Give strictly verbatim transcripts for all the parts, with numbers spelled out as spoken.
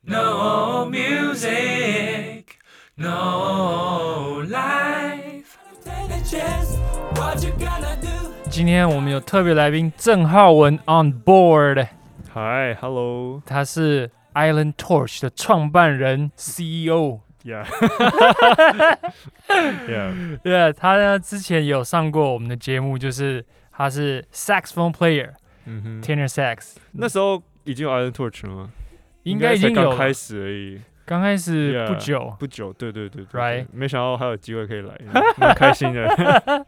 No music, no life. 今天我们有特别来宾郑浩文 on board。 Hi, hello。 他是 Island Torch 的创办人 C E O。Yeah, yeah, yeah. 他呢之前有上过我们的节目，就是他是 saxophone player， 嗯哼 tenor sax。 那时候已经有 Island Torch 了吗？ 应该已经有刚开始而已， 刚开始不久， yeah, 不久，对对对对 ，right？ 没想到还有机会可以来，蛮开心的。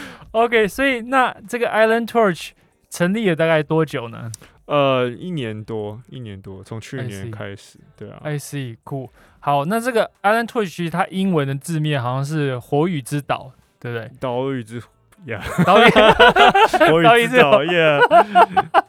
OK， 所以那这个 Island Torch 成立了大概多久呢？ 呃，一年多，一年多，从去年开始，对啊。 I see， cool。好，那这个 Island Torch 其实它英文的字面好像是火与之岛，对不对？ 岛屿之呀， 岛屿， 火与之岛，yeah。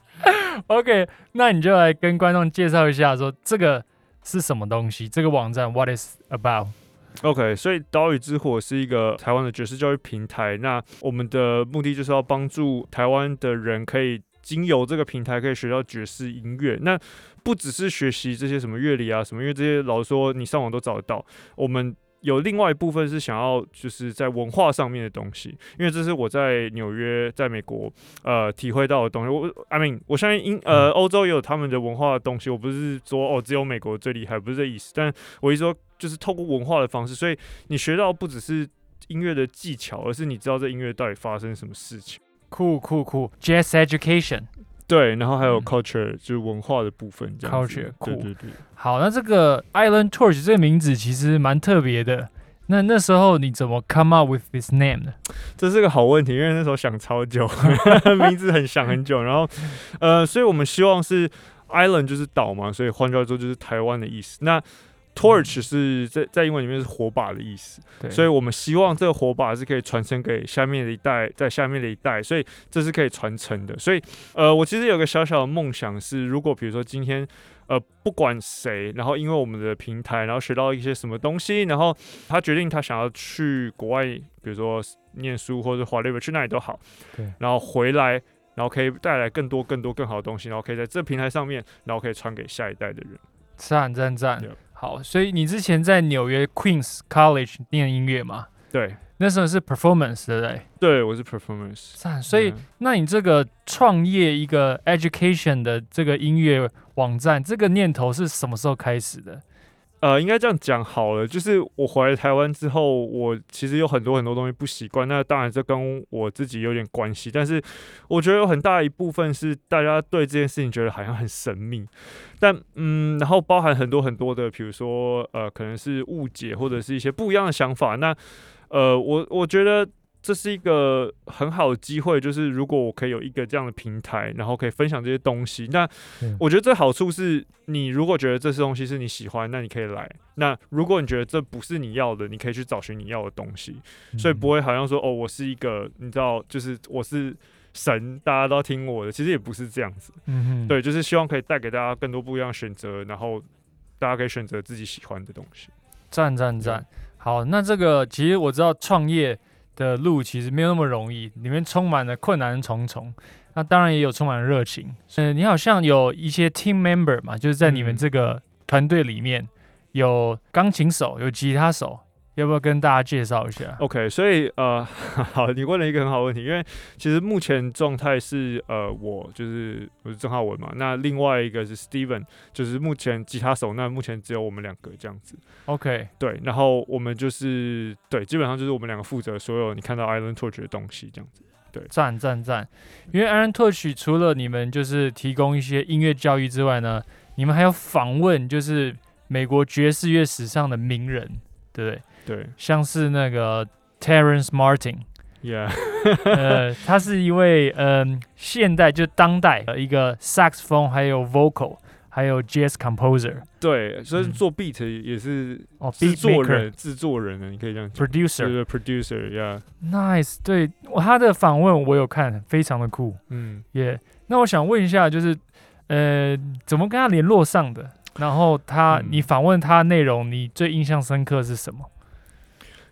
OK， 那你就来跟观众介绍一下，说这个是什么东西？这个网站 What is about？ OK， 所以岛屿之火是一个台湾的爵士教育平台。那我们的目的就是要帮助台湾的人可以经由这个平台可以学到爵士音乐。那不只是学习这些什么乐理啊什么，因为这些老实说你上网都找得到。我们有另外一部分是想要就是在文化上面的东西，因为这是我在纽约在美国呃体会到的东西。我 I mean 我相信英呃欧洲也有他们的文化的东西，我不是说哦只有美国最厉害，不是这意思。但我意思说就是透过文化的方式，所以你学到不只是音乐的技巧，而是你知道这音乐到底发生什么事情。 酷酷酷 Jazz education。 对，然后还有 culture，、嗯、就是文化的部分这样子。 culture， 对对对。 好，那这个 Island Torch 这个名字其实蛮特别的。那那时候你怎么 come up with this name 呢？ 这是个好问题，因为那时候想超久，名字很想很久。然后，呃，所以我们希望是 Island 就是岛嘛，所以换句话说就是台湾的意思。那Torch 是在在英文里面是火把的意思，所以我们希望这个火把是可以传承给下面的一代，在下面的一代，所以这是可以传承的。所以，呃，我其实有个小小的梦想是，如果比如说今天，呃，不管谁，然后因为我们的平台，然后学到一些什么东西，然后他决定他想要去国外，比如说念书或者 whatever 去哪里都好，然后回来，然后可以带来更多更多更好的东西，然后可以在这平台上面，然后可以传给下一代的人。 赞赞赞！好，所以你之前在纽约 Queens College 念音乐嘛？ 对， 那时候是 performance， 对不对？ 对，我是 performance。 赞，所以、嗯、那你这个创业一个 education 的这个音乐网站，这个念头是什么时候开始的？ 呃，应该这样讲好了，就是我回来台湾之后，我其实有很多很多东西不习惯，那当然这跟我自己有点关系，但是我觉得有很大一部分是大家对这件事情觉得好像很神秘，但嗯，然后包含很多很多的，比如说呃，可能是误解或者是一些不一样的想法，那呃，我我觉得这是一个很好的机会，就是如果我可以有一个这样的平台，然后可以分享这些东西，那我觉得这好处是，你如果觉得这些东西是你喜欢，那你可以来；那如果你觉得这不是你要的，你可以去找寻你要的东西，所以不会好像说哦，我是一个你知道，就是我是神，大家都要听我的，其实也不是这样子。嗯，对，就是希望可以带给大家更多不一样的选择，然后大家可以选择自己喜欢的东西。 赞赞赞！好，那这个其实我知道创业的路其实没有那么容易，里面充满了困难重重。那当然也有充满了热情。嗯，你好像有一些 team member 嘛，就是在你们这个团队里面有钢琴手，有吉他手，要不要跟大家介绍一下 ？OK， 所以呃，好，你问了一个很好的问题，因为其实目前状态是呃，我就是我是郑浩文嘛，那另外一个是 Steven， 就是目前吉他手，那目前只有我们两个这样子。 OK， 对，然后我们就是对，基本上就是我们两个负责所有你看到 Island Torch 的东西这样子。对， 赞赞赞！因为 Island Torch 除了你们就是提供一些音乐教育之外呢，你们还有访问就是美国爵士乐史上的名人，对不对？ 对， 像是那个 Terrence Martin，yeah， 呃，他是一位嗯、呃、现代就当代的一个 saxophone 还有 vocal 还有 jazz composer。 对，所以做 beat 也是哦， 制作人，制作人呢，你可以这样讲 ，producer， 对对 ，producer，yeah，nice， 对，他的访问我有看，非常的酷，嗯，也、yeah ，那我想问一下，就是呃，怎么跟他联络上的？然后他，嗯、你访问他的内容，你最印象深刻是什么？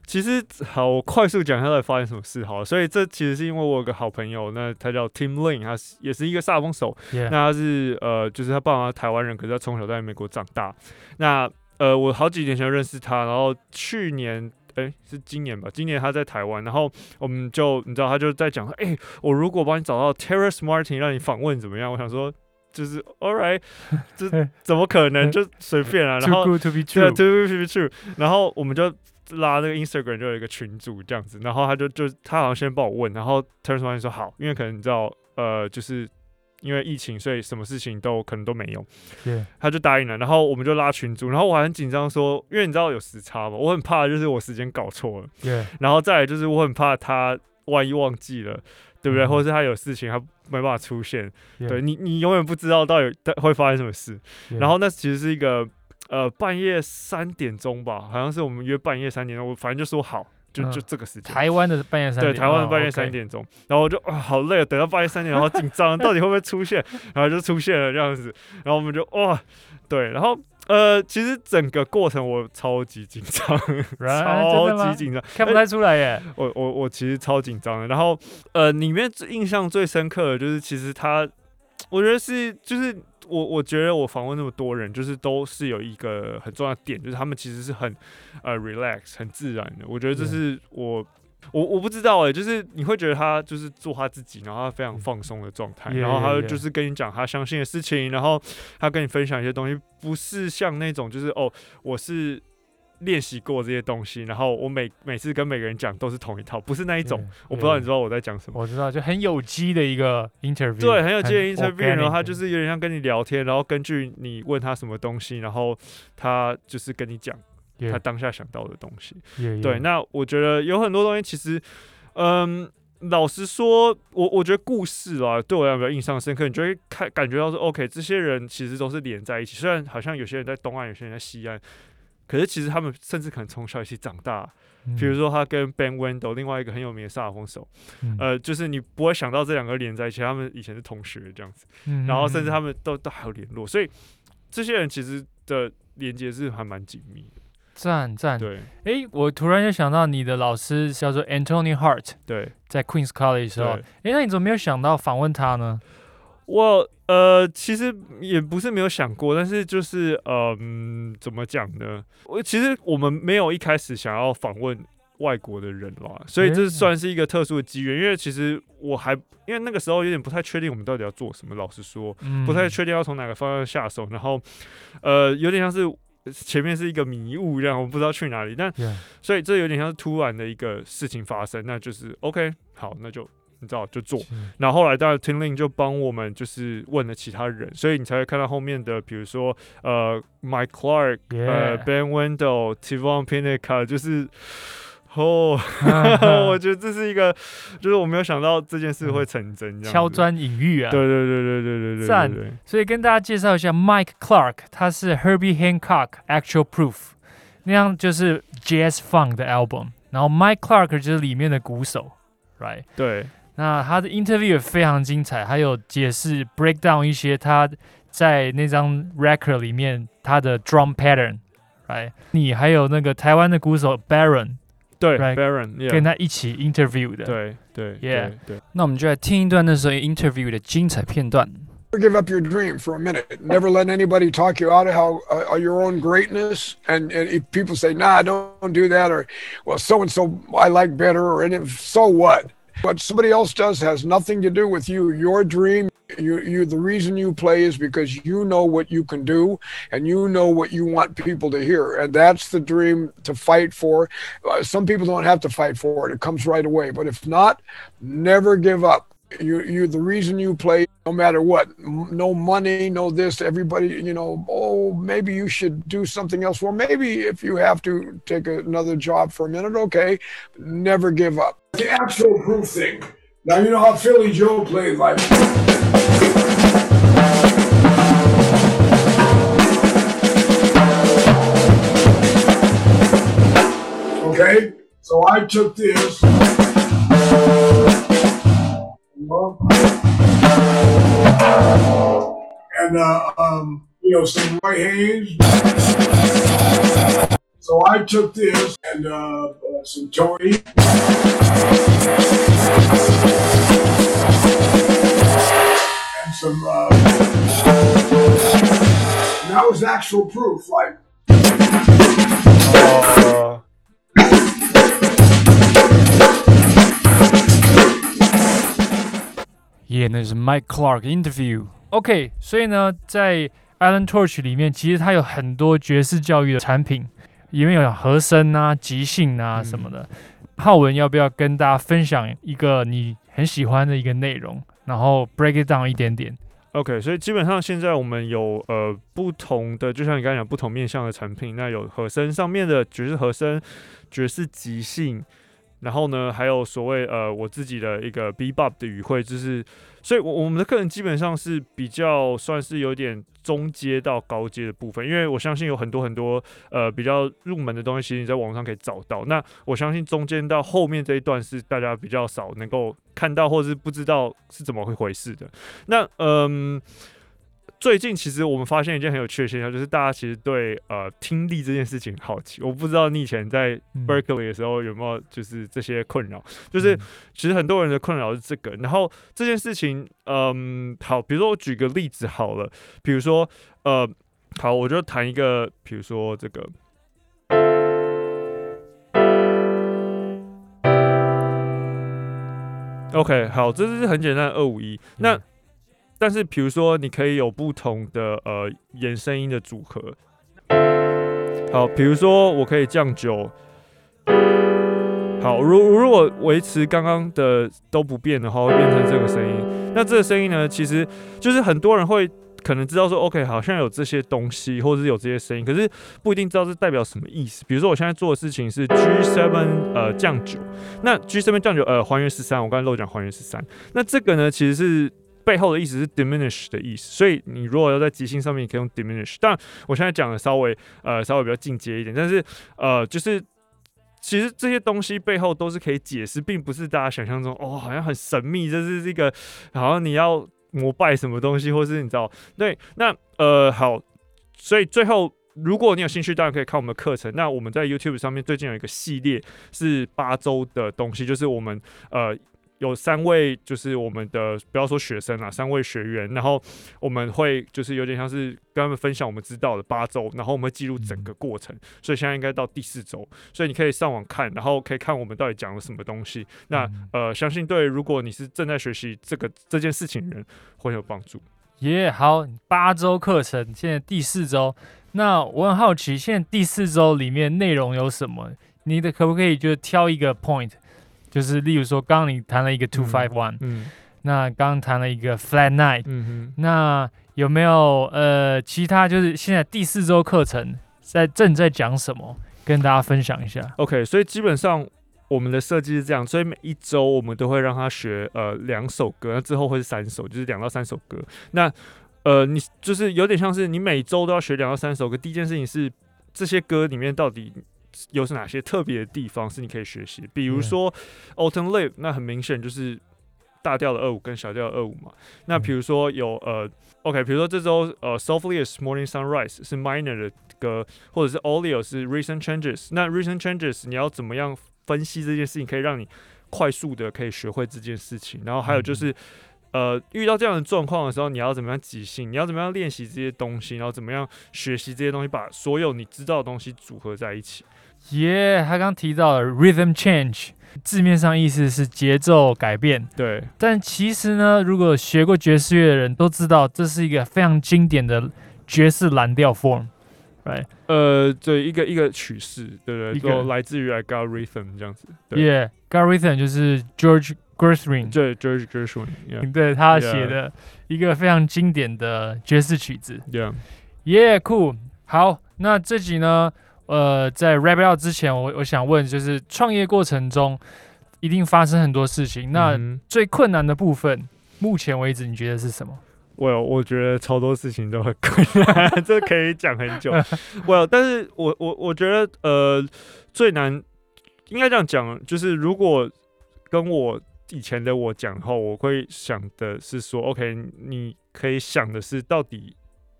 其实好，我快速讲一下到底发生什么事好了。所以这其实是因为我有个好朋友，那他叫 Tim Lin， 他是也是一个萨风手。 Yeah. 那他是呃，就是他爸妈台湾人，可是他从小在美国长大。那呃，我好几年前认识他，然后去年。哎，是今年吧？今年他在台湾，然后我们就你知道，他就在讲说，哎，我如果帮你找到 Terrace Martin 让你访问怎么样？我想说，就是 All right， 这怎么可能？就随便啊。然后 Too good to be true， 对 ，Too good to be true。然后我们就拉那个 Instagram 就有一个群组这样子，然后他就就他好像先帮我问，然后 Terrace Martin 说好，因为可能你知道，呃，就是。因为疫情，所以什么事情都可能都没有。 Yeah. 他就答应了，然后我们就拉群组，然后我还很紧张说，因为你知道有时差嘛，我很怕就是我时间搞错了。 Yeah. 然后再来就是我很怕他万一忘记了，对不对？ Mm-hmm. 或者是他有事情他没办法出现。 Yeah. 对你，你永远不知道到底会发生什么事。 Yeah. 然后那其实是一个呃半夜三点钟吧，好像是我们约半夜三点钟，我反正就说好。就就这个时间， 台湾的半夜三点， 对，台湾的半夜三点钟，哦 okay. 然后我就啊好累，等到半夜三点，然后紧张，到底会不会出现？然后就出现了这样子，然后我们就哇，对，然后呃，其实整个过程我超级紧张， right? 超级紧张， 看不太出来耶。 我我我其实超紧张的，然后呃，里面印象最深刻的就是，其实他，我觉得是就是。我我觉得我访问那么多人，就是都是有一个很重要的点，就是他们其实是很呃 relax 很自然的。我觉得这是我、yeah. 我我不知道哎、欸，就是你会觉得他就是做他自己，然后他非常放松的状态， yeah, 然后他 yeah, yeah. 就是跟你讲他相信的事情，然后他跟你分享一些东西，不是像那种就是哦我是。练习过这些东西，然后我每每次跟每个人讲都是同一套，不是那一种。Yeah, 我不知道你知道我在讲什么。 我知道，就很有机的一个 interview。 对，很有机的 interview， 然后他就是有点像跟你聊天，然后根据你问他什么东西，然后他就是跟你讲他当下想到的东西。 Yeah, 对， yeah. 那我觉得有很多东西其实，嗯。老实说，我我觉得故事啊，对我来讲比较印象深刻。你就会看感觉到说 ，OK， 这些人其实都是连在一起。虽然好像有些人在东岸，有些人在西岸。可是其实他们甚至可能从小一起长大，嗯、比如说他跟 Ben Wendell 另外一个很有名的萨克风手、嗯，呃，就是你不会想到这两个连在一起，他们以前是同学这样子，嗯、然后甚至他们都都还有联络，所以这些人其实的连接是还蛮紧密的。 赞赞， 对， 哎，我突然就想到你的老师叫做 Anthony Hart， 对， 在 Queens College 的时候，哎，那你怎么没有想到访问他呢？ 我呃，其实也不是没有想过，但是就是嗯，怎么讲呢？我其实我们没有一开始想要访问外国的人啦，所以这算是一个特殊的机缘。因为其实我还因为那个时候有点不太确定我们到底要做什么，老实说， 嗯、 不太确定要从哪个方向下手，然后呃，有点像是前面是一个迷雾这样，我不知道去哪里，但、 yeah. 所以这有点像是突然的一个事情发生，那就是 OK， 好，那就。你知道就做，然后后来当然 Tim Lin 就帮我们就是问了其他人，所以你才会看到后面的，比如说呃 Mike Clark、yeah. 呃 Ben Wendell、Tivon Pinnick， 就是哦，我觉得这是一个，就是我没有想到这件事会成真，这样敲砖引玉啊， 对对对对对对对， 赞。所以跟大家介绍一下 Mike Clark， 他是 Herbie Hancock Actual Proof， 那样就是 Jazz Funk 的 album， 然后 Mike Clark 就是里面的鼓手 ，right？ 对。 那他的 interview 也非常精彩，还有解释 break down 一些他在那张 record 里面他的 drum pattern， right？ 你还有那个台湾的鼓手 Baron， 对 right? Baron、yeah. 跟他一起 interview 的， 对对 ，yeah， 对对。 那我们就来听一段那时候 interview 的精彩片段。 Never give up your dream for a minute. Never let anybody talk you out of how uh, your own greatness. And, and if people say, "Nah, don't do that," or "Well, so and so I like better," or "And if so what?" What somebody else does has nothing to do with you. Your dream, you, you, the reason you play is because you know what you can do and you know what you want people to hear. And that's the dream to fight for. Uh, some people don't have to fight for it. It comes right away. But if not, never give up. You, you, the reason you play, no matter what, no money, no this, everybody, you know, oh, maybe you should do something else. Well, maybe if you have to take another job for a minute, okay, never give up. The actual proof thing. Now, you know how Philly Joe played like. Okay, so I took this. And, uh, um, you know, some Roy Haynes. So I took this and, uh, some Tony. And some, uh, and that was actual proof, like. Uh, Yeah， 那是 Mike Clark interview。OK， 所以呢，在 Island Torch 里面，其实它有很多爵士教育的产品，里面有和声啊、即兴啊什么的。嗯、浩文要不要跟大家分享一个你很喜欢的一个内容，然后 break it down 一点点？ OK， 所以基本上现在我们有呃不同的，就像你刚才讲不同面向的产品，那有和声上面的爵士和声、爵士即兴。然后呢，还有所谓呃我自己的一个 bebop 的语汇，就是所以我我们的课程基本上是比较算是有点中阶到高阶的部分，因为我相信有很多很多呃比较入门的东西，其实你在网上可以找到。那我相信中间到后面这一段是大家比较少能够看到，或者是不知道是怎么会回事的。那嗯。最近其实我们发现一件很有趣的现象，就是大家其实对呃听力这件事情好奇。我不知道你以前在 Berkeley 的时候有没有就是这些困扰，就是其实很多人的困扰是这个。然后这件事情，嗯，好，比如说我举个例子好了，比如说呃，好，我就谈一个，比如说这个。OK， 好，这是很简单的二五一。那但是，比如说，你可以有不同的呃延声音的组合。好，比如说，我可以降九。好，如如果维持刚刚的都不变的话，会变成这个声音。那这个声音呢，其实就是很多人会可能知道说 ，OK， 好像有这些东西，或者是有这些声音，可是不一定知道这代表什么意思。比如说，我现在做的事情是 G 七 呃降九，那 G 七 降九呃还原十三，我刚才漏讲还原十三。那这个呢，其实是。背后的意思是 diminish 的意思，所以你如果要在即兴上面，你可以用 diminish。当然，我现在讲的稍微呃稍微比较进阶一点，但是呃就是其实这些东西背后都是可以解释，并不是大家想象中哦好像很神秘，这是这个好像你要膜拜什么东西，或是你知道对那呃好，所以最后。如果你有兴趣，当然可以看我们的课程。那我们在 YouTube 上面最近有一个系列是八周的东西，就是我们呃。有三位，就是我们的不要说学生啦，三位学员，然后我们会就是有点像是跟他们分享我们知道的八周，然后我们会记录整个过程，所以现在应该到第四周，所以你可以上网看，然后可以看我们到底讲了什么东西。那呃，相信对如果你是正在学习这个这件事情的人会有帮助。 耶、yeah, ，好，八周课程，现在第四周。那我很好奇，现在第四周里面内容有什么？你的可不可以就挑一个 point？就是例如说，刚刚你谈了一个 two five one， 嗯，那刚刚谈了一个 flat nine， 嗯哼，那有没有呃其他就是现在第四周课程在正在讲什么，跟大家分享一下 ？OK， 所以基本上我们的设计是这样，所以每一周我们都会让他学呃两首歌，那之后会是三首，就是两到三首歌。那呃你就是有点像是你每周都要学两到三首歌。第一件事情是这些歌里面到底。有哪些特别的地方是你可以学习？比如说 Autumn Leaf， 那很明显就是大调的二五跟小调的二五嘛。那比如说有呃 ，OK， 比如说这周呃 Softly as Morning Sunrise 是 minor 的歌，或者是 Olio 是 Recent Changes。那 Recent Changes 你要怎么样分析这件事情，可以让你快速的可以学会这件事情？然后还有就是。呃，遇到这样的状况的时候，你要怎么样即兴？你要怎么样练习这些东西？然后怎么样学习这些东西，把所有你知道的东西组合在一起？ 耶、yeah, 他刚提到的 rhythm change， 字面上意思是节奏改变。 对， 但其实呢，如果学过爵士乐的人都知道，这是一个非常经典的爵士蓝调 form。Right. 呃，对，一个一个曲式，对不对？都来自于 I Got Rhythm 这样子。 Yeah, Got Rhythm 就是 George Gershwin， 对 ，George Gershwin， 对他写的一个非常经典的爵士曲子。 Yeah, yeah, cool。好，那这集呢，呃，在 wrap it up 之前，我我想问，就是创业过程中一定发生很多事情，那最困难的部分，目前为止你觉得是什么 ？Well， 我觉得超多事情都很困难，这可以讲很久。Well， 但是我我我觉得呃最难应该这样讲，就是如果跟我以前的我讲后，我会想的是说 ，OK， 你可以想的是到底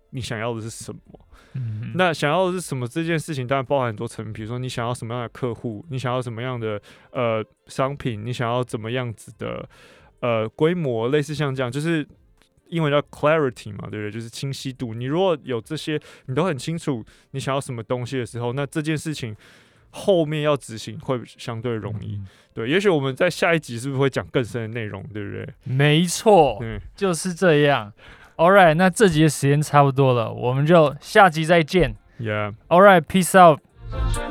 你想要的是什么。 嗯， 那想要的是什么这件事情，当然包含很多层面，比如说你想要什么样的客户，你想要什么样的呃商品，你想要怎么样子的呃规模，类似像这样，就是英文叫 clarity 嘛，对不对？就是清晰度。你如果有这些，你都很清楚你想要什么东西的时候，那这件事情后面要执行会相对容易。 嗯对，也许我们在下一集是不是会讲更深的内容，对不对？ 没错， 嗯， 就是这样。All right，那这集的时间差不多了，我们就下集再见。 Yeah。 All right，peace out。